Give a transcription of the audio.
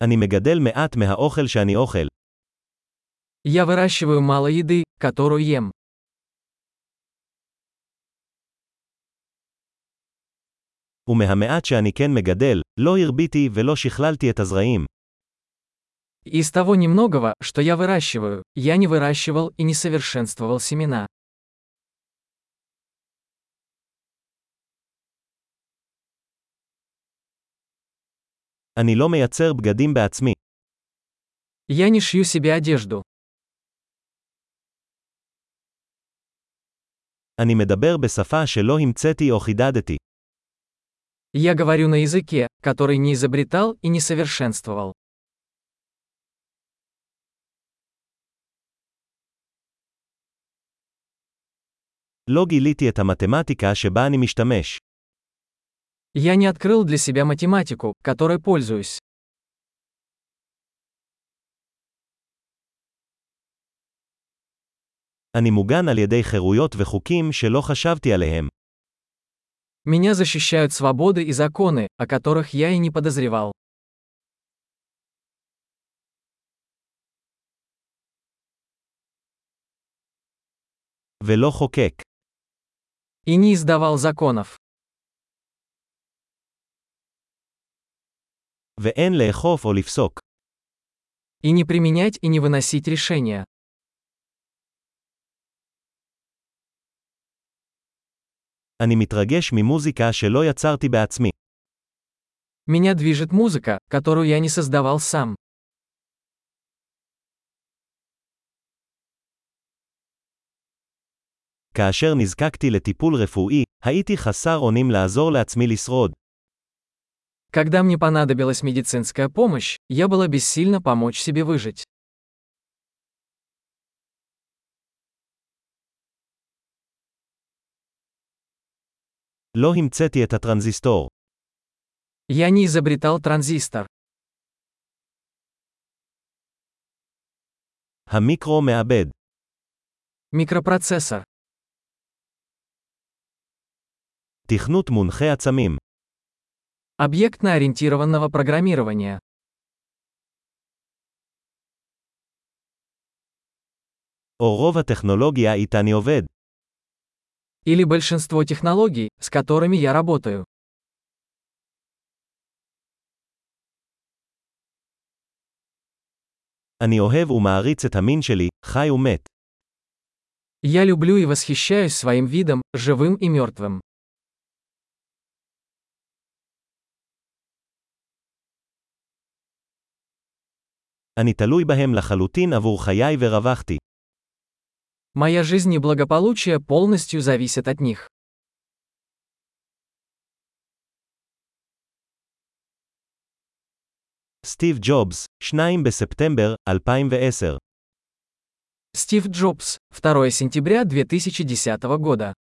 אני מגדל מעט מהאוכל שאני אוכל. Я выращиваю мало еды, которую ем. ומהמעט שאני כן מגדל, לא הרביתי ולא שכללתי את הזרעים. Из того немногого, что я выращиваю, я не выращивал и не совершенствовал семена. אני לא מייצר בגדים בעצמי. Я не шью себе одежду. אני מדבר בשפה שלא המצאתי או חידדתי. Я говорю на языке, который не изобретал и не совершенствовал. לא גיליתי את המתמטיקה שבה אני משתמש. Я не открыл для себя математику, которой пользуюсь. אני מוגן על ידי חירויות וחוקים שלא חשבתי עליהם. Меня защищают свободы и законы, о которых я и не подозревал. ולא חוקק. И не издавал законов. ואין לאכוף או לפסוק. И не применять и не выносить решения. אני מתרגש ממוזיקה שלא יצרתי בעצמי. Меня движет музыка, которую я не создавал сам. כאשר נזקקתי לטיפול רפואי, הייתי חסר אונים לעזור לעצמי לשרוד. Когда мне понадобилась медицинская помощь, я была бессильна помочь себе выжить. לא המצאתי את הטרנזיסטור. Я не изобретал транзистор. המיקרו מעבד. Микропроцессор. תכנות מונחה עצמים. Объектно-ориентированного программирования. או רוב הטכנולוגיה איתה אני עובד. Или большинство технологий, с которыми я работаю. אני אוהב ומעריץ את המין שלי, חי ומת. Я люблю и восхищаюсь своим видом, живым и мертвым. אני תלוי בהם לחלוטין עבור חיי ורווחתי. Моя жизнь и благополучие полностью зависят от них. סטיב ג'ובס, 2 בספטמבר 2010. Стив Джобс, 2 сентября 2010 года.